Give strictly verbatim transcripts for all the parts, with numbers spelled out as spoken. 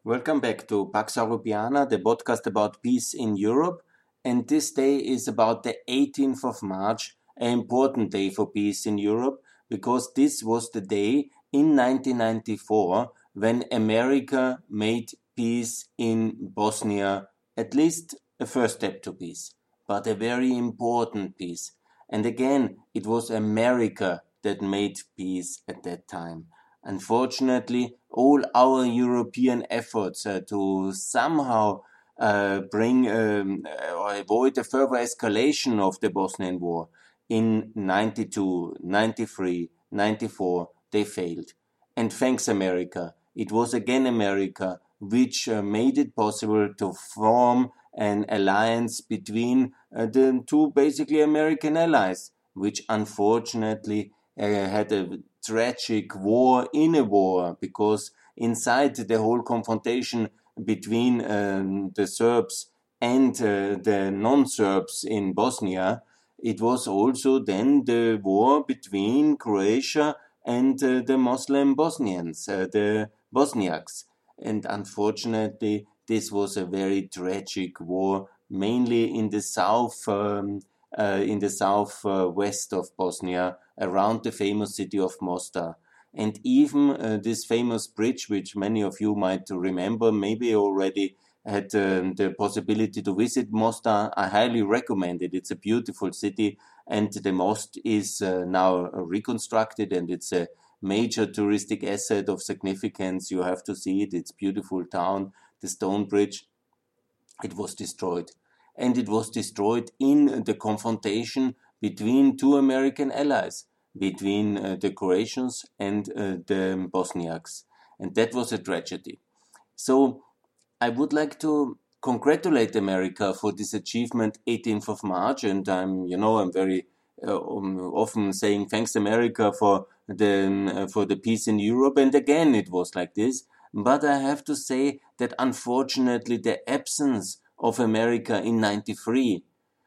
Welcome back to Pax Europiana, the podcast about peace in Europe. And this day is about the eighteenth of March, an important day for peace in Europe, because this was the day in nineteen ninety-four when America made peace in Bosnia, at least a first step to peace, but a very important peace. And again, it was America that made peace at that time. Unfortunately, all our European efforts uh, to somehow uh, bring um, or avoid a further escalation of the Bosnian War in ninety-two, ninety-three, ninety-four, they failed. And thanks America, it was again America which uh, made it possible to form an alliance between uh, the two basically American allies, which unfortunately uh, had a tragic war in a war, because inside the whole confrontation between um, the Serbs and uh, the non-Serbs in Bosnia, it was also then the war between Croatia and uh, the Muslim Bosnians, uh, the Bosniaks. And unfortunately, this was a very tragic war, mainly in the south, um, uh, in the south uh, west of Bosnia, around the famous city of Mostar. And even uh, this famous bridge, which many of you might remember, maybe already had um, the possibility to visit Mostar, I highly recommend it. It's a beautiful city, and the most is uh, now reconstructed, and it's a major touristic asset of significance. You have to see it. It's a beautiful town. The stone bridge, it was destroyed. And it was destroyed in the confrontation between two American allies, between uh, the Croatians and uh, the Bosniaks. And that was a tragedy. So I would like to congratulate America for this achievement, eighteenth of March, and I'm, you know, I'm very uh, um, often saying thanks America for the um, uh, for the peace in Europe, and again it was like this. But I have to say that unfortunately the absence of America in ninety-three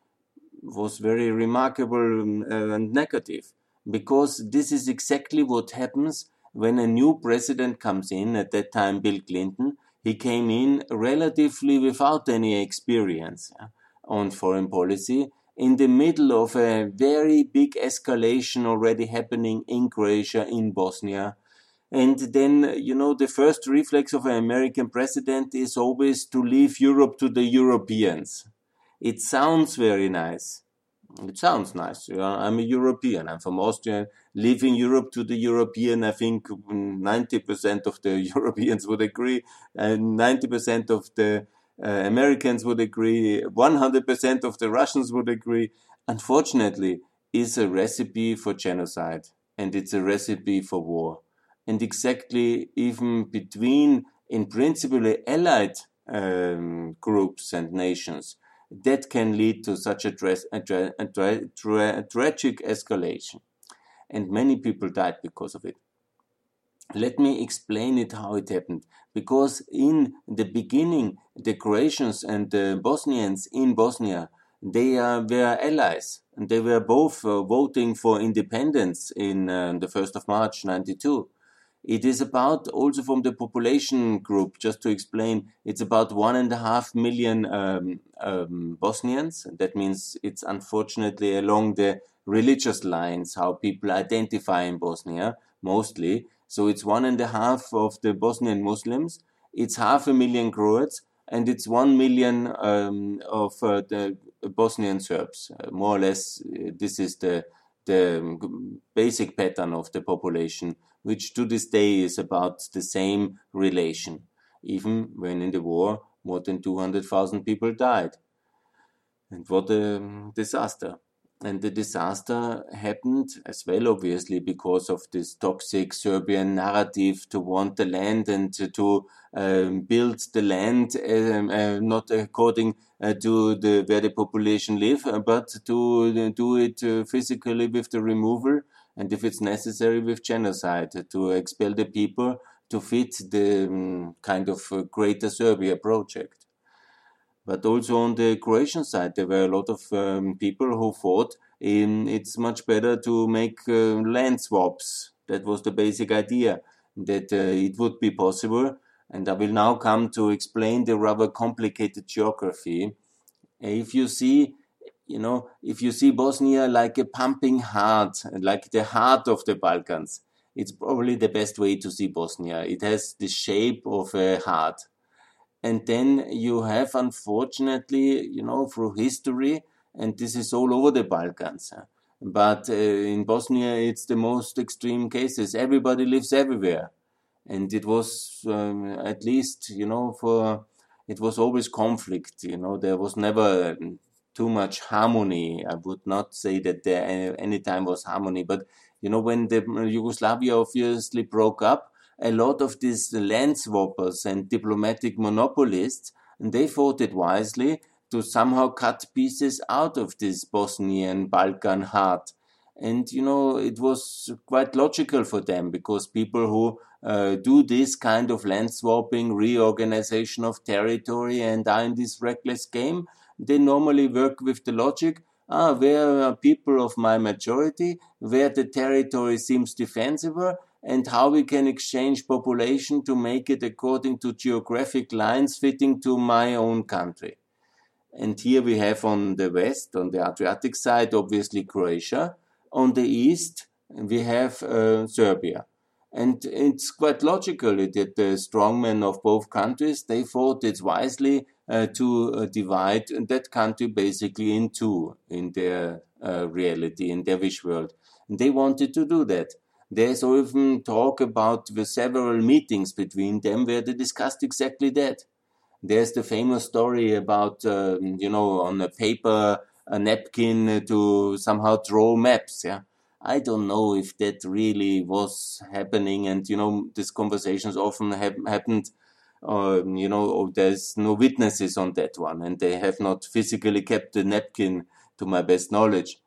was very remarkable um, uh, and negative, because this is exactly what happens when a new president comes in. At that time, Bill Clinton. He came in relatively without any experience uh, on foreign policy, in the middle of a very big escalation already happening in Croatia, in Bosnia. And then, you know, the first reflex of an American president is always to leave Europe to the Europeans. It sounds very nice. It sounds nice. You know, I'm a European. I'm from Austria. Leaving Europe to the European, I think ninety percent of the Europeans would agree, and ninety percent of the uh, Americans would agree, one hundred percent of the Russians would agree. Unfortunately, it's a recipe for genocide, and it's a recipe for war. And exactly even between, in principle, allied um, groups and nations, that can lead to such a, tra- a, tra- a, tra- tra- a tragic escalation. And many people died because of it. Let me explain it how it happened. Because in the beginning, the Croatians and the Bosnians in Bosnia, they uh, were allies. And they were both uh, voting for independence in uh, the first of March ninety-two. It is about, also from the population group, just to explain, it's about one and a half million um, um, Bosnians. That means it's unfortunately along the religious lines, how people identify in Bosnia, mostly. So it's one and a half of the Bosnian Muslims, it's half a million Croats, and it's one million um, of uh, the Bosnian Serbs. Uh, more or less, uh, this is the, the basic pattern of the population, which to this day is about the same relation, even when in the war more than two hundred thousand people died. And what a disaster. And the disaster happened as well, obviously, because of this toxic Serbian narrative to want the land and to, to um, build the land um, uh, not according uh, to the where the population live, uh, but to uh, do it uh, physically with the removal, and if it's necessary with genocide, to expel the people to fit the um, kind of uh, Greater Serbia project. But also on the Croatian side, there were a lot of um, people who thought um, it's much better to make uh, land swaps. That was the basic idea, that uh, it would be possible And I will now come to explain the rather complicated geography. If you see, you know, if you see Bosnia like a pumping heart, like the heart of the Balkans, it's probably the best way to see Bosnia. It has the shape of a heart. And then you have, unfortunately, you know, through history, and this is all over the Balkans. But uh, in Bosnia, it's the most extreme cases. Everybody lives everywhere. And it was, um, at least, you know, for, it was always conflict, you know, there was never too much harmony. I would not say that there any, any time was harmony, but, you know, when the Yugoslavia obviously broke up, a lot of these land swappers and diplomatic monopolists, and they thought it wisely to somehow cut pieces out of this Bosnian Balkan heart. And, you know, it was quite logical for them because people who uh, do this kind of land swapping, reorganization of territory and are in this reckless game, they normally work with the logic, ah, where are people of my majority, where the territory seems defensible, and how we can exchange population to make it according to geographic lines fitting to my own country. And here we have on the west, on the Adriatic side, obviously Croatia. On the east, we have uh, Serbia. And it's quite logical that the strongmen of both countries, they thought it's wisely uh, to uh, divide that country basically in two in their uh, reality, in their wish world. And they wanted to do that. There's even talk about the several meetings between them where they discussed exactly that. There's the famous story about, uh, you know, on a paper, a napkin to somehow draw maps, yeah. I don't know if that really was happening, and, you know, these conversations often have happened, uh, you know, there's no witnesses on that one, and they have not physically kept the napkin to my best knowledge.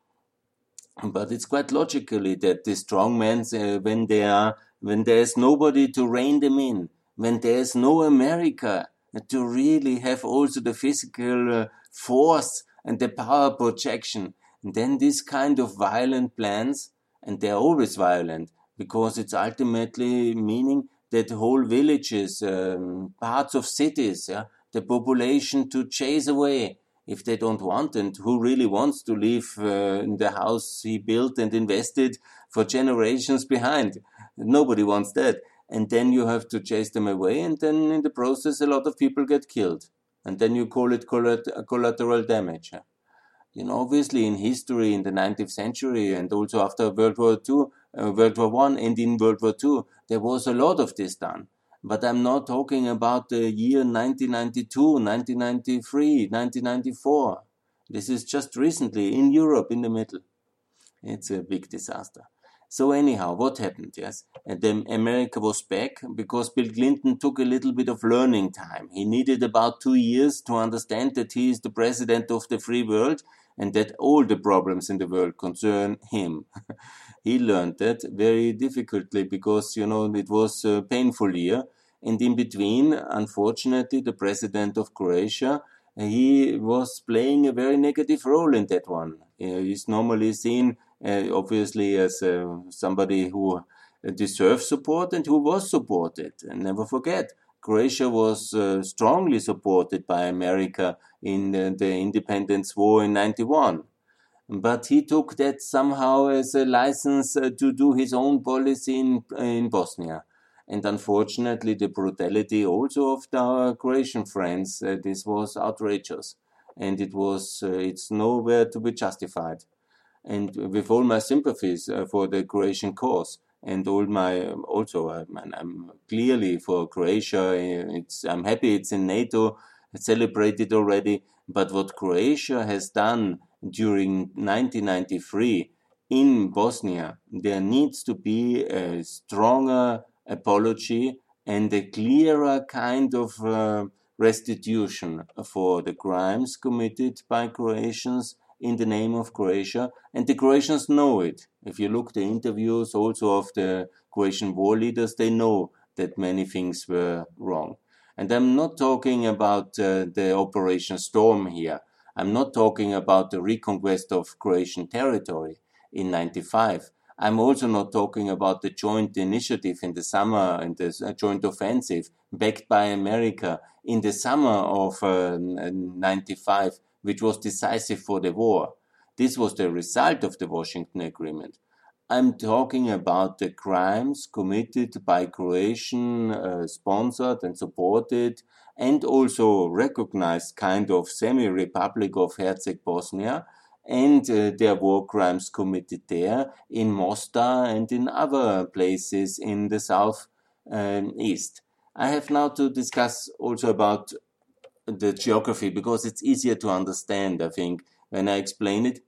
But it's quite logically that the strongmen, uh, when they are, when there's nobody to rein them in, when there's no America to really have also the physical uh, force and the power projection, and then this kind of violent plans, and they're always violent, because it's ultimately meaning that whole villages, um, parts of cities, yeah, the population to chase away if they don't want, and who really wants to live uh, in the house he built and invested for generations behind. Nobody wants that. And then you have to chase them away, and then in the process a lot of people get killed. And then you call it collateral damage. You know, obviously in history in the nineteenth century and also after World War Two, uh, World War One and in World War Two, there was a lot of this done. But I'm not talking about the year nineteen ninety-two, nineteen ninety-three, nineteen ninety-four. This is just recently in Europe, in the middle. It's a big disaster. So anyhow, what happened? Yes, and then America was back because Bill Clinton took a little bit of learning time. He needed about two years to understand that he is the president of the free world and that all the problems in the world concern him. He learned that very difficultly because, you know, it was a painful year. And in between, unfortunately, the president of Croatia, he was playing a very negative role in that one. Uh, he's normally seen, uh, obviously, as uh, somebody who deserves support and who was supported. And never forget, Croatia was uh, strongly supported by America in uh, the independence war in ninety-one. But he took that somehow as a license uh, to do his own policy in, in Bosnia. And unfortunately, the brutality also of our Croatian friends, uh, this was outrageous. And it was, uh, it's nowhere to be justified. And with all my sympathies uh, for the Croatian cause, and all my, also, uh, I'm clearly for Croatia, it's, I'm happy it's in NATO, it's celebrated already, but what Croatia has done during nineteen ninety-three in Bosnia, there needs to be a stronger apology and a clearer kind of uh, restitution for the crimes committed by Croatians in the name of Croatia, and the Croatians know it. If you look the interviews also of the Croatian war leaders, they know that many things were wrong. And I'm not talking about uh, the Operation Storm here. I'm not talking about the reconquest of Croatian territory in ninety-five. I'm also not talking about the joint initiative in the summer, and the joint offensive backed by America in the summer of uh, ninety-five, which was decisive for the war. This was the result of the Washington Agreement. I'm talking about the crimes committed by Croatian uh, sponsored and supported and also recognized kind of semi-republic of Herzegovina Bosnia, and uh, their war crimes committed there in Mostar and in other places in the south um, east. I have now to discuss also about the geography because it's easier to understand, I think, when I explain it.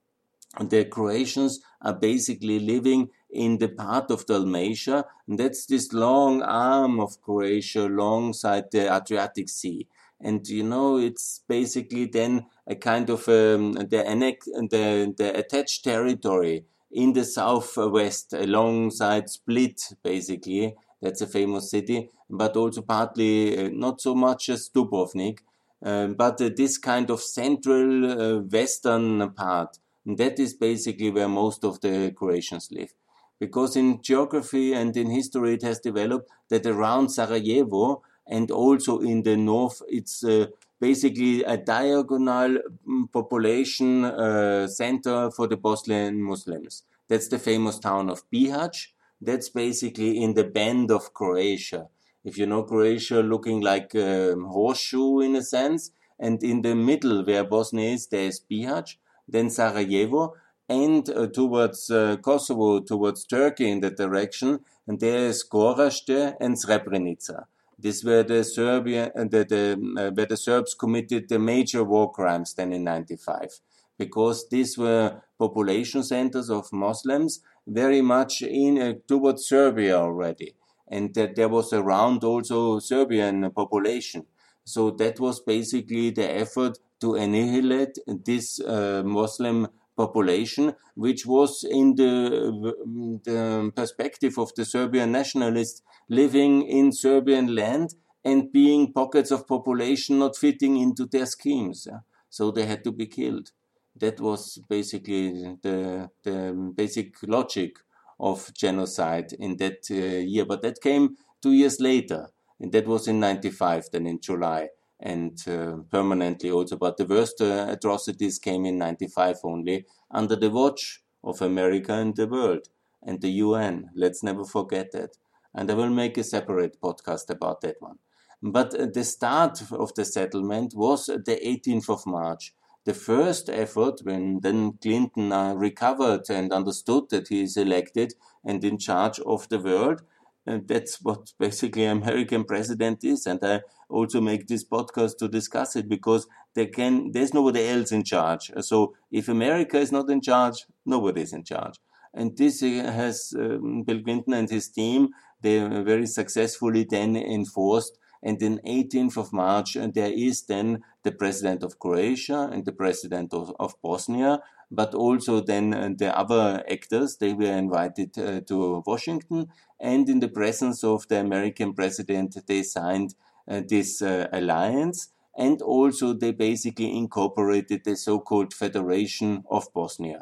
The Croatians are basically living in the part of Dalmatia, and that's this long arm of Croatia alongside the Adriatic Sea. And you know, it's basically then a kind of um, the, annex, the the attached territory in the southwest alongside Split, basically. That's a famous city, but also partly uh, not so much as Dubrovnik, uh, but uh, this kind of central uh, western part. And that is basically where most of the Croatians live. Because in geography and in history it has developed that around Sarajevo and also in the north it's uh, basically a diagonal population uh, center for the Bosnian Muslims. That's the famous town of Bihać. That's basically in the bend of Croatia. If you know Croatia looking like a horseshoe in a sense, and in the middle where Bosnia is, there is Bihać, then Sarajevo, and uh, towards uh, Kosovo, towards Turkey in that direction, and there is Gorazde and Srebrenica. This were the Serbia, uh, the, the, uh, where the Serbs committed the major war crimes then in ninety-five, because these were population centers of Muslims very much in uh, towards Serbia already, and that there was around also Serbian population. So that was basically the effort to annihilate this uh, Muslim population, which was in the, the perspective of the Serbian nationalists living in Serbian land and being pockets of population not fitting into their schemes. Yeah? So they had to be killed. That was basically the, the basic logic of genocide in that uh, year. But that came two years later, and that was in ninety-five, then in July. And uh, permanently also, but the worst uh, atrocities came in ninety-five only under the watch of America and the world and the U N. Let's never forget that. And I will make a separate podcast about that one. But uh, the start of the settlement was the eighteenth of March. The first effort, when then Clinton uh, recovered and understood that he is elected and in charge of the world, and that's what basically American president is. And I also make this podcast to discuss it because there can, there's nobody else in charge. So if America is not in charge, nobody is in charge. And this has um, Bill Clinton and his team, they very successfully then enforced. And then eighteenth of March, and there is then the president of Croatia and the president of, of Bosnia, but also then uh, the other actors, they were invited uh, to Washington, and in the presence of the American president, they signed uh, this uh, alliance, and also they basically incorporated the so-called Federation of Bosnia.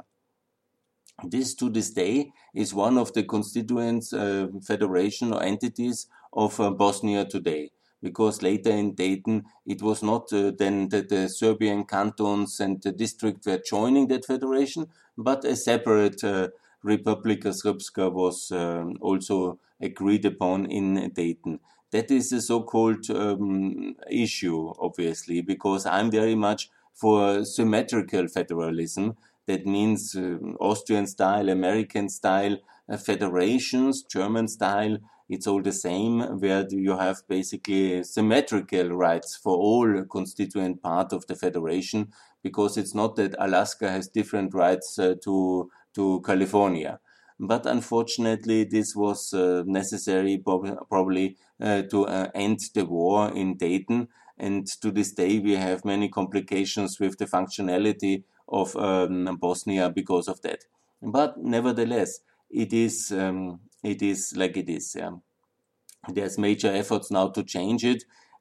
This, to this day, is one of the constituent uh, federation or entities of uh, Bosnia today. Because later in Dayton, it was not uh, then that the Serbian cantons and the district were joining that federation, but a separate uh, Republika Srpska was um, also agreed upon in Dayton. That is a so-called um, issue, obviously, because I'm very much for symmetrical federalism. That means uh, Austrian style, American style uh, federations, German style. It's all the same, where you have basically symmetrical rights for all constituent part of the federation, because it's not that Alaska has different rights uh, to to California. But unfortunately, this was uh, necessary probably uh, to uh, end the war in Dayton. And to this day, we have many complications with the functionality of um, Bosnia because of that. But nevertheless, it is um, it is like it is. Yeah. There's major efforts now to change it,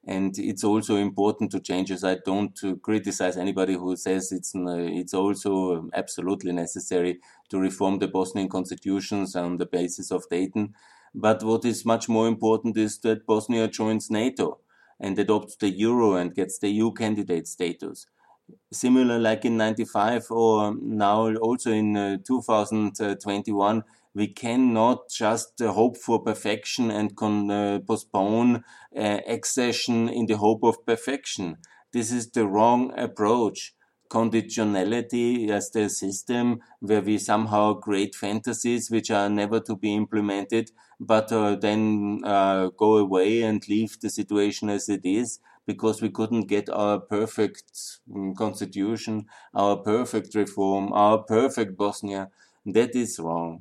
And it's also important to change this. I don't uh, criticize anybody who says it's uh, it's also absolutely necessary to reform the Bosnian constitutions on the basis of Dayton. But what is much more important is that Bosnia joins NATO and adopts the euro and gets the E U candidate status. Similar like in ninety-five or now also in uh, two thousand twenty-one, we cannot just uh, hope for perfection and con- uh, postpone uh, accession in the hope of perfection. This is the wrong approach. Conditionality as the system where we somehow create fantasies which are never to be implemented, but uh, then uh, go away and leave the situation as it is, because we couldn't get our perfect um, constitution, our perfect reform, our perfect Bosnia. That is wrong.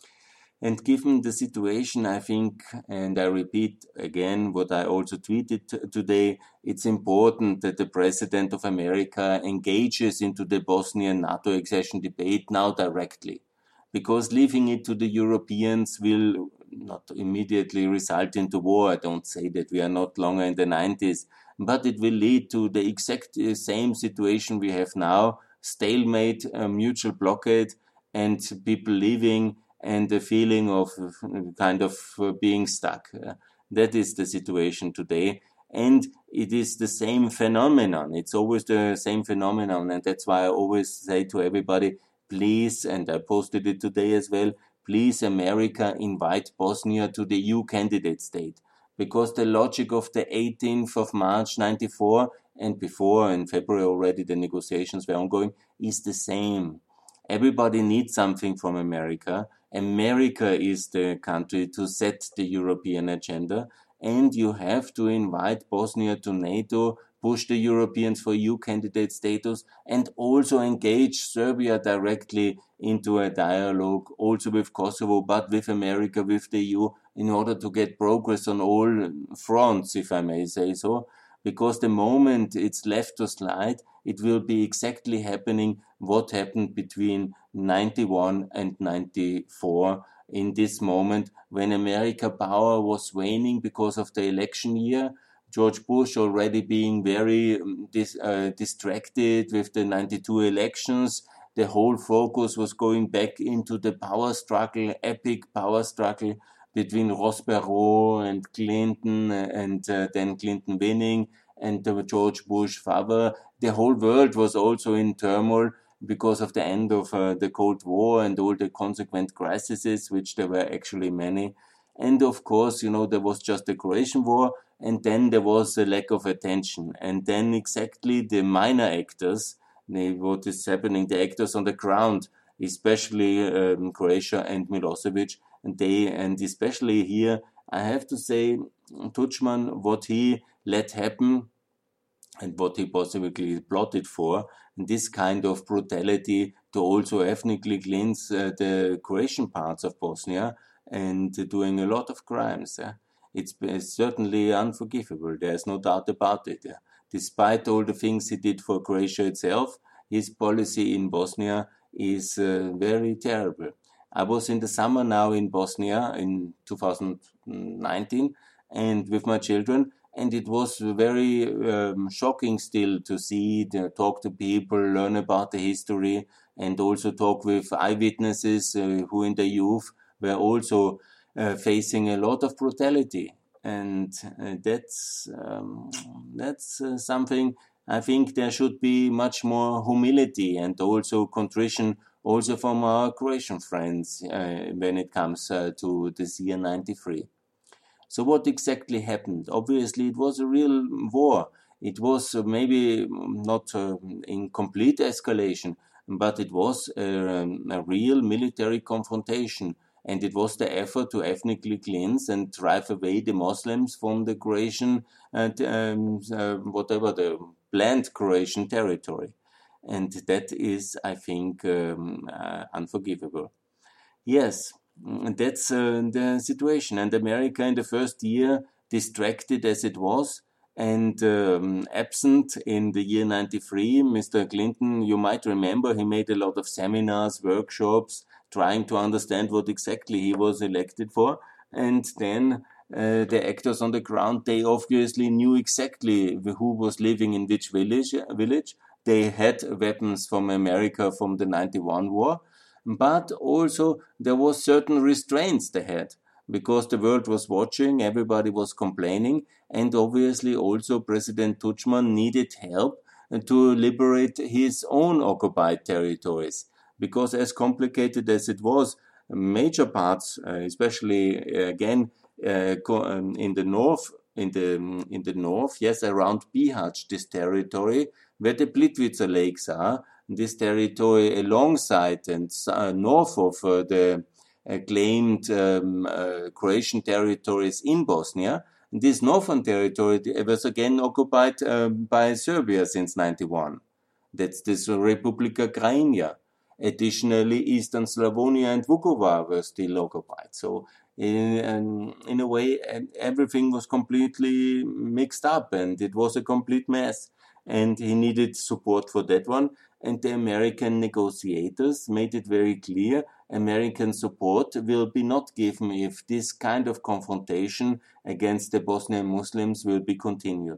And given the situation, I think, and I repeat again what I also tweeted t- today, it's important that the President of America engages into the Bosnian NATO accession debate now directly, because leaving it to the Europeans will not immediately result into war. I don't say that we are not longer in the nineties, but it will lead to the exact uh, same situation we have now, stalemate, uh, mutual blockade, and people leaving, and the feeling of uh, kind of uh, being stuck. Uh, that is the situation today. And it is the same phenomenon. It's always the same phenomenon. And that's why I always say to everybody, please, and I posted it today as well, please, America, invite Bosnia to the E U candidate state. Because the logic of the eighteenth of March ninety-four and before, in February already, the negotiations were ongoing, is the same. Everybody needs something from America. America is the country to set the European agenda, and you have to invite Bosnia to NATO, push the Europeans for E U candidate status, and also engage Serbia directly into a dialogue, also with Kosovo, but with America, with the E U, in order to get progress on all fronts, if I may say so. Because the moment it's left to slide, it will be exactly happening what happened between ninety-one and ninety-four in this moment, when America power was waning because of the election year. George Bush already being very um, dis, uh, distracted with the ninety-two elections. The whole focus was going back into the power struggle, epic power struggle between Ross Perot and Clinton, and uh, then Clinton winning, and uh, George Bush father. The whole world was also in turmoil because of the end of uh, the Cold War and all the consequent crises, which there were actually many. And of course, you know, there was just the Croatian War, and then there was a lack of attention. And then exactly the minor actors, the, what is happening, the actors on the ground, especially um, Croatia and Milosevic, and they, and especially here, I have to say, Tudjman, what he let happen and what he possibly plotted for, this kind of brutality to also ethnically cleanse uh, the Croatian parts of Bosnia, and uh, doing a lot of crimes. Yeah? It's, it's certainly unforgivable. There's no doubt about it. Yeah? Despite all the things he did for Croatia itself, his policy in Bosnia is uh, very terrible. I was in the summer now in Bosnia in two thousand nineteen, and with my children, and it was very um, shocking still to see, to talk to people, learn about the history, and also talk with eyewitnesses uh, who in the youth were also uh, facing a lot of brutality. And uh, that's um, that's uh, something. I think there should be much more humility and also contrition also from our Croatian friends uh, when it comes uh, to this year ninety-three. So what exactly happened? Obviously, it was a real war. It was uh, maybe not uh, in complete escalation, but it was a, a real military confrontation. And it was the effort to ethnically cleanse and drive away the Muslims from the Croatian, and um, uh, whatever the planned Croatian territory. And that is, I think, um, uh, unforgivable. Yes, mm, that's uh, the situation. And America in the first year, distracted as it was and um, absent in the year ninety-three, Mister Clinton, you might remember, he made a lot of seminars, workshops, trying to understand what exactly he was elected for. And then uh, the actors on the ground, they obviously knew exactly who was living in which village. village. They had weapons from America from the ninety-one war, but also there was certain restraints they had because the world was watching, everybody was complaining, and obviously also President Tudjman needed help to liberate his own occupied territories. Because as complicated as it was, major parts, uh, especially uh, again uh, in the north, in the in the north, yes, around Bihać, this territory where the Plitvice lakes are, this territory alongside and uh, north of uh, the uh, claimed um, uh, Croatian territories in Bosnia. This northern territory was again occupied um, by Serbia since ninety-one. That's this Republika Krajina. Additionally, Eastern Slavonia and Vukovar were still occupied. So, in, in a way, everything was completely mixed up and it was a complete mess. And he needed support for that one. And the American negotiators made it very clear American support will be not given if this kind of confrontation against the Bosnian Muslims will be continued.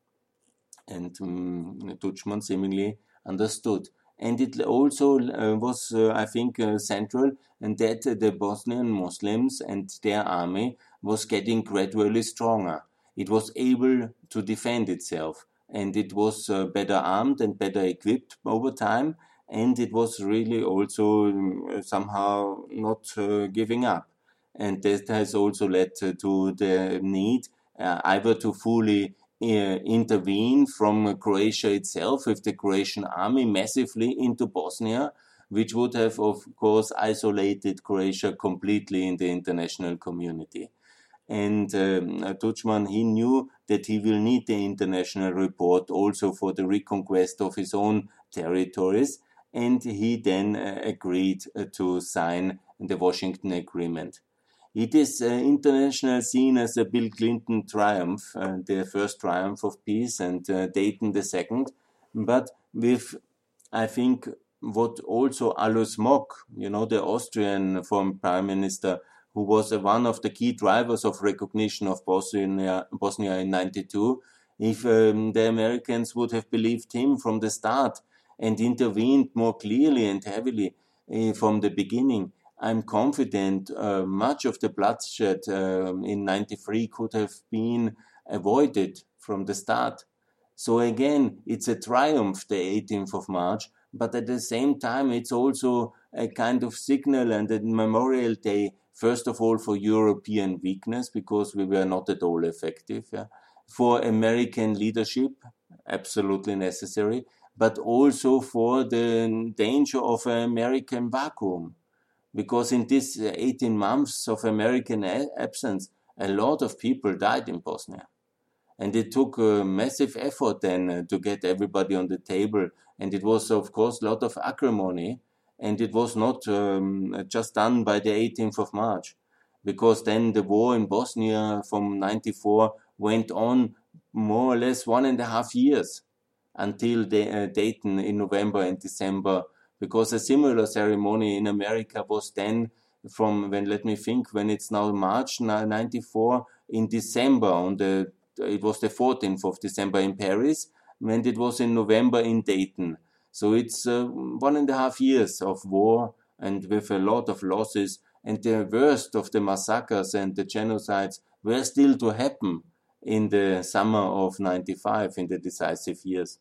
And um, Tudjman seemingly understood. And it also uh, was, uh, I think, uh, central, and that uh, the Bosnian Muslims and their army was getting gradually stronger. It was able to defend itself, and it was uh, better armed and better equipped over time, and it was really also um, somehow not uh, giving up. And that has also led uh, to the need uh, either to fully Uh, intervene from uh, Croatia itself with the Croatian army massively into Bosnia, which would have, of course, isolated Croatia completely in the international community. And um, Tudjman, he knew that he will need the international report also for the reconquest of his own territories, and he then uh, agreed uh, to sign the Washington Agreement. It is uh, international seen as a Bill Clinton triumph, uh, the first triumph of peace, and uh, Dayton the second. But with, I think, what also Alois Mock, you know, the Austrian former prime minister, who was uh, one of the key drivers of recognition of Bosnia, Bosnia in ninety-two, if um, the Americans would have believed him from the start and intervened more clearly and heavily uh, from the beginning, I'm confident uh, much of the bloodshed uh, in ninety-three could have been avoided from the start. So again, it's a triumph, the eighteenth of March, but at the same time, it's also a kind of signal and a memorial day, first of all, for European weakness, because we were not at all effective, yeah? For American leadership, absolutely necessary, but also for the danger of an American vacuum. Because in these eighteen months of American absence, a lot of people died in Bosnia. And it took a massive effort then to get everybody on the table. And it was, of course, a lot of acrimony. And it was not um, just done by the eighteenth of March. Because then the war in Bosnia from ninety-four went on more or less one and a half years until the, uh, Dayton in November and December. Because a similar ceremony in America was then from when, let me think, when it's now March ninety-four, in December, on the, it was the fourteenth of December in Paris, and it was in November in Dayton. So it's uh, one and a half years of war and with a lot of losses, and the worst of the massacres and the genocides were still to happen in the summer of ninety-five, in the decisive years.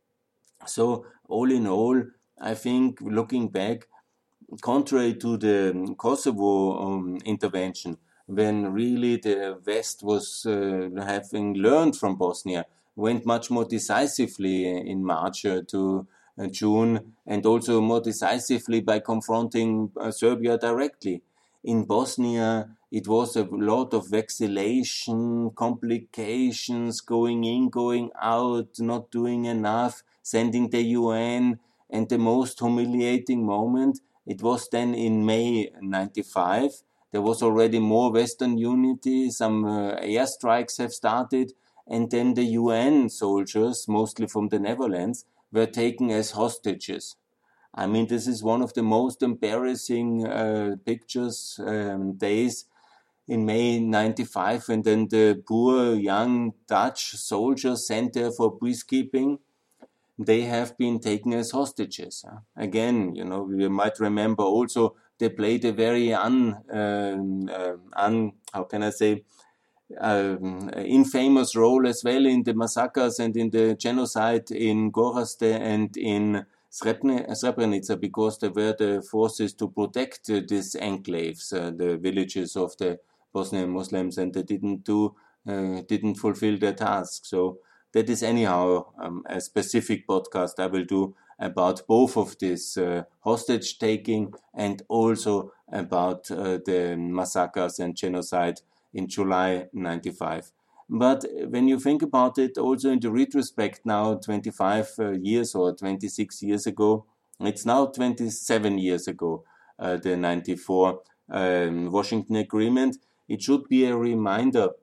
So all in all, I think, looking back, contrary to the Kosovo um, intervention, when really the West was uh, having learned from Bosnia, went much more decisively in March uh, to uh, June, and also more decisively by confronting uh, Serbia directly. In Bosnia, it was a lot of vacillation, complications, going in, going out, not doing enough, sending the U N, and the most humiliating moment, it was then in May ninety-five. There was already more Western unity, some uh, airstrikes have started, and then the U N soldiers, mostly from the Netherlands, were taken as hostages. I mean, this is one of the most embarrassing uh, pictures, um, days in May ninety-five, and then the poor young Dutch soldiers sent there for peacekeeping, they have been taken as hostages. Again, you know, we might remember also they played a very un, um, uh, un how can I say, um, infamous role as well in the massacres and in the genocide in Gorazde and in Srebrenica, because they were the forces to protect uh, these enclaves, uh, the villages of the Bosnian Muslims, and they didn't do, uh, didn't fulfill their task. So that is anyhow um, a specific podcast I will do about both of this uh, hostage taking and also about uh, the massacres and genocide in July ninety-five. But when you think about it, also in the retrospect now, twenty-five uh, years or twenty-six years ago, it's now twenty-seven years ago, uh, the ninety-four um, Washington Agreement, it should be a reminder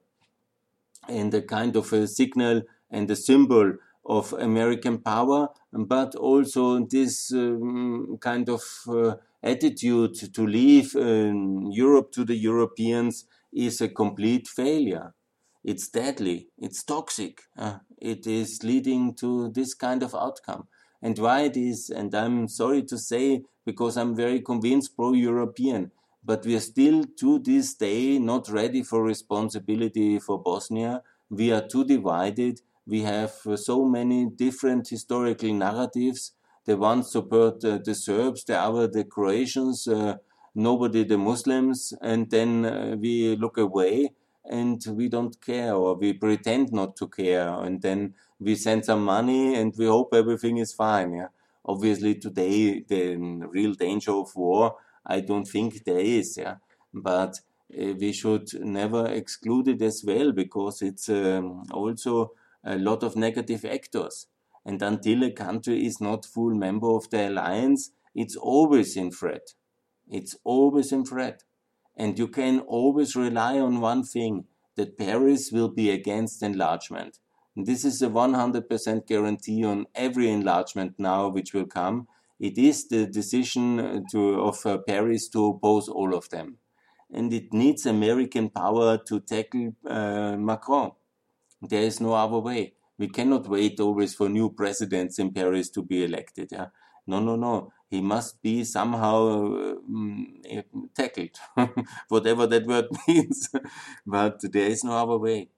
and a kind of a signal and a symbol of American power, but also this um, kind of uh, attitude to leave um, Europe to the Europeans is a complete failure. It's deadly, it's toxic, uh, it is leading to this kind of outcome. And why it is, and I'm sorry to say, because I'm very convinced pro-European, but we are still to this day not ready for responsibility for Bosnia. We are too divided. We have uh, so many different historical narratives. The one support uh, the Serbs, the other the Croatians, uh, nobody the Muslims, and then uh, we look away and we don't care, or we pretend not to care, and then we send some money and we hope everything is fine. Yeah? Obviously today the real danger of war, I don't think there is, yeah, but uh, we should never exclude it as well, because it's um, also a lot of negative actors. And until a country is not full member of the alliance, it's always in threat. It's always in threat. And you can always rely on one thing, that Paris will be against enlargement. And this is a one hundred percent guarantee on every enlargement now which will come. It is the decision to, of uh, Paris to oppose all of them. And it needs American power to tackle uh, Macron. There is no other way. We cannot wait always for new presidents in Paris to be elected. Yeah? No, no, no. He must be somehow um, tackled, whatever that word means. But there is no other way.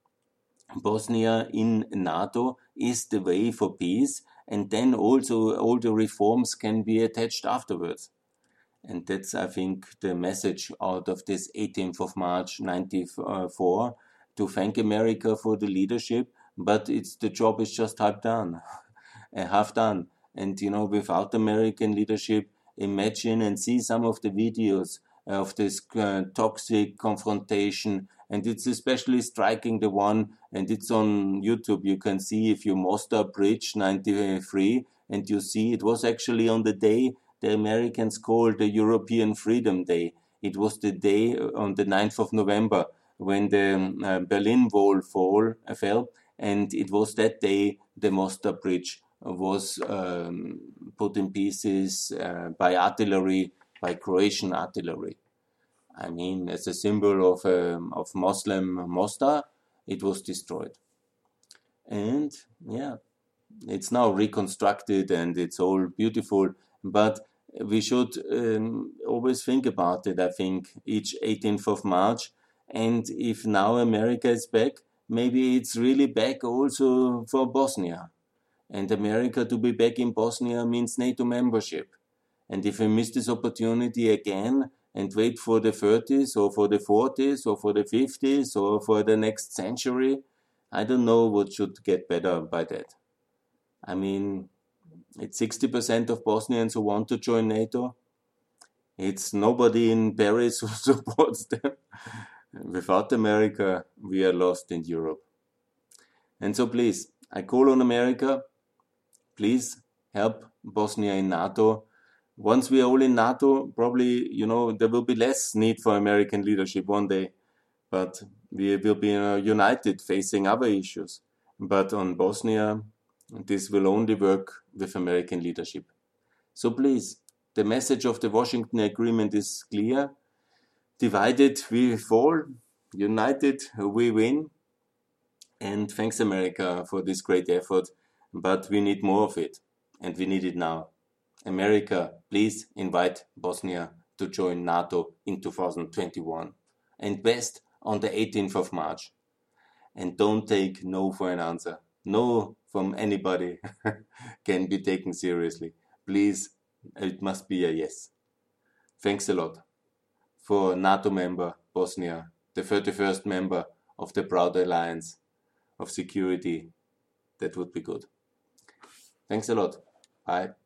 Bosnia in NATO is the way for peace, and then also all the reforms can be attached afterwards. And that's, I think, the message out of this eighteenth of March ninety-four, to thank America for the leadership, but it's the job is just half done, half done. And, you know, without American leadership, imagine and see some of the videos of this uh, toxic confrontation. And it's especially striking, the one, and it's on YouTube. You can see if you Mostar Bridge ninety-three, and you see it was actually on the day the Americans called the European Freedom Day. It was the day on the ninth of November when the uh, Berlin Wall fall, uh, fell, and it was that day the Mostar Bridge was um, put in pieces uh, by artillery, by Croatian artillery. I mean, as a symbol of um, of Muslim Mostar, it was destroyed. And yeah, it's now reconstructed and it's all beautiful, but we should um, always think about it, I think, each eighteenth of March. And if now America is back, maybe it's really back also for Bosnia. And America to be back in Bosnia means NATO membership. And if we miss this opportunity again and wait for the thirties or for the forties or for the fifties or for the next century, I don't know what should get better by that. I mean, it's sixty percent of Bosnians who want to join NATO. It's nobody in Paris who supports them. Without America, we are lost in Europe. And so please, I call on America, please help Bosnia in NATO. Once we are all in NATO, probably, you know, there will be less need for American leadership one day. But we will be uh, united facing other issues. But on Bosnia, this will only work with American leadership. So please, the message of the Washington Agreement is clear. Divided we fall, united we win. And thanks America for this great effort, but we need more of it, and we need it now. America, please invite Bosnia to join NATO in two thousand twenty-one and best on the eighteenth of March. And don't take no for an answer. No from anybody can be taken seriously. Please, it must be a yes. Thanks a lot. For NATO member Bosnia, the thirty-first member of the Proud Alliance of Security, that would be good. Thanks a lot. Bye.